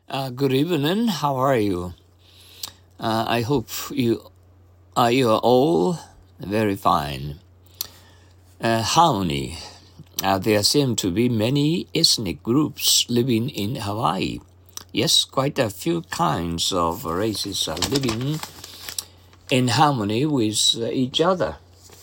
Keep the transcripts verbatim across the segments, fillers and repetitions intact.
Uh, good evening. How are you? Uh, I hope you uh, you are all very fine. Uh, harmony. Uh, there seem to be many ethnic groups living in Hawaii. Yes, quite a few kinds of races are living in harmony with each other.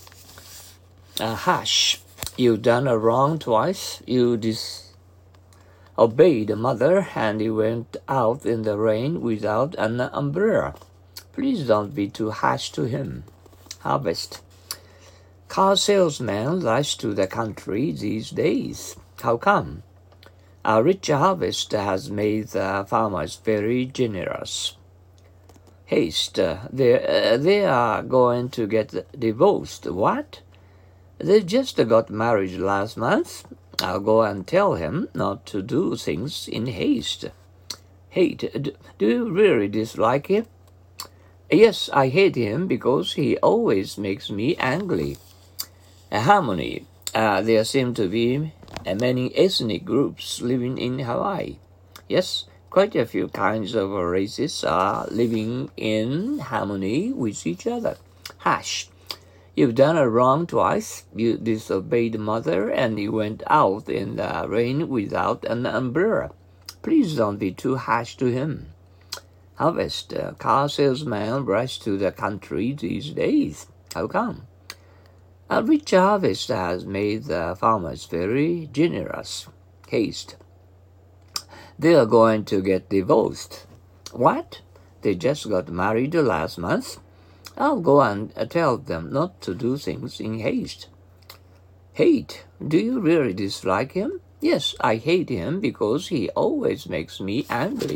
Uh, hush. You done a wrong twice. You disobeyed the mother and you went out in the rain without an umbrella. Please don't be too harsh to him. Harvest. Car salesman lies to the country these days. How come? A rich harvest has made the farmers very generous. Haste. They, uh, they are going to get divorced. What? They just got married last month. I'll go and tell him not to do things in haste. Hate. Do you really dislike him? Yes, I hate him because he always makes me angry. A harmony. Uh, there seem to be uh, many ethnic groups living in Hawaii. Yes, quite a few kinds of races are living in harmony with each other. Hush. You've done a wrong twice. You disobeyed mother and you went out in the rain without an umbrella. Please don't be too harsh to him. Harvest. Uh, car salesman rush to the country these days. How come? A rich harvest has made the farmers very generous. Haste. They are going to get divorced. What? They just got married last month. I'll go and tell them not to do things in haste. Hate. Do you really dislike him? Yes, I hate him because he always makes me angry.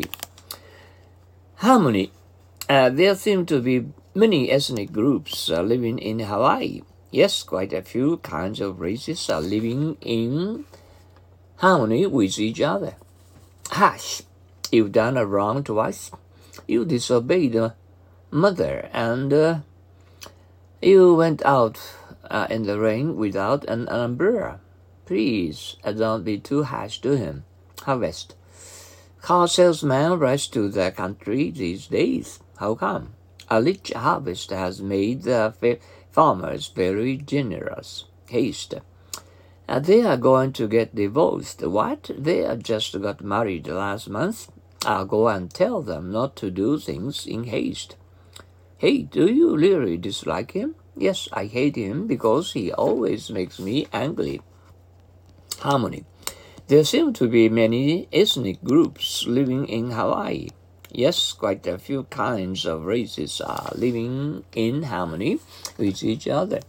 Harmony. Uh, there seem to be many ethnic groups uh, living in Hawaii. Yes, quite a few kinds of races are living in harmony with each other. Hush! You've done a wrong twice. You disobeyed the mother and uh, you went out uh, in the rain without an umbrella. Please uh, don't be too harsh to him. Harvest. Car salesman rush to the country these days. How come? A rich harvest has made the farmers very generous. Haste. Uh, they are going to get divorced. What? They just got married last month. I'll go and tell them not to do things in haste. Hey, do you really dislike him? Yes, I hate him because he always makes me angry. Harmony. There seem to be many ethnic groups living in Hawaii. Yes, quite a few kinds of races are living in harmony with each other.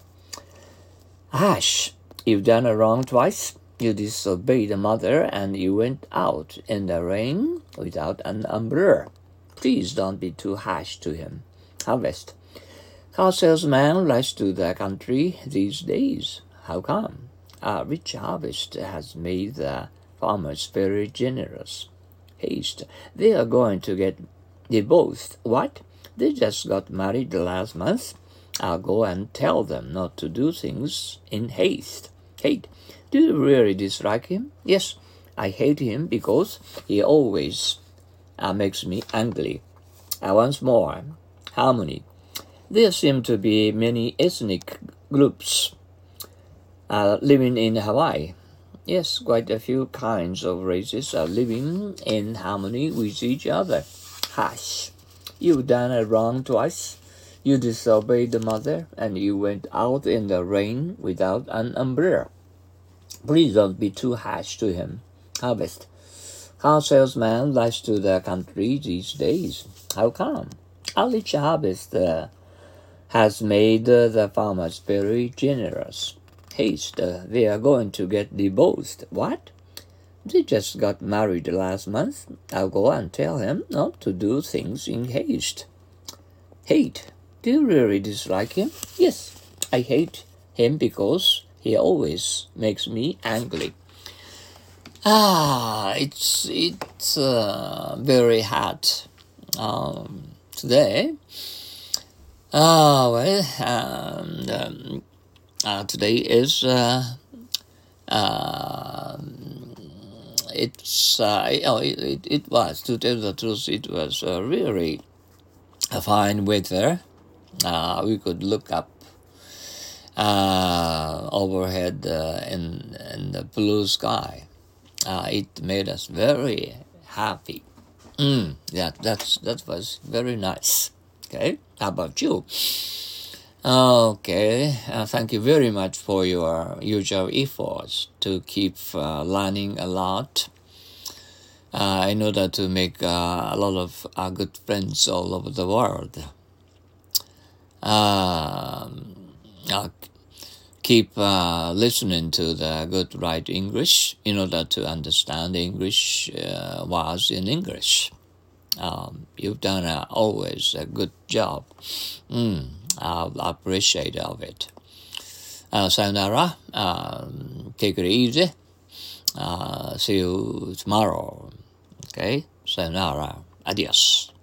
Hush! You've done a wrong twice. You disobeyed the mother and you went out in the rain without an umbrella. Please don't be too harsh to him. Harvest. Car salesman lies to the country these days. How come? A rich harvest has made the farmers very generous. Haste. They are going to get divorced. What? They just got married last month. I'll go and tell them not to do things in haste. Hate. Do you really dislike him? Yes, I hate him because he always uh, makes me angry. Uh, once more. Harmony. There seem to be many ethnic groups uh, living in Hawaii. Yes, quite a few kinds of races are living in harmony with each other. Hush! You've done it wrong twice. You disobeyed the mother and you went out in the rain without an umbrella. Please don't be too harsh to him. Harvest. Car salesman lies to the country these days. How come? A rich harvest uh, has made uh, the farmers very generous. Haste. Uh, they are going to get divorced. What? They just got married last month. I'll go and tell him not to do things in haste. Hate. Do you really dislike him? Yes, I hate him because he always makes me angry. Ah, it's it's uh, very hot um, today. Ah, well, and, um, uh, today is uh, uh, it's uh, you know, it, it, it was, to tell the truth, it was uh, really a fine weather. Uh, we could look up uh, overhead uh, in, in the blue sky. Uh, it made us very happy. Mm, yeah, that's that was very nice. Okay, how about you? Okay, uh, thank you very much for your usual efforts to keep uh, learning a lot uh, in order to make uh, a lot of uh, good friends all over the world. Um, uh, keep uh, listening to the good right English in order to understand English uh, words in English. Um, you've done a, always a good job. Mm, I appreciate of it. Uh, sayonara. Um, take it easy. Uh, see you tomorrow. Okay? Sayonara. Adios.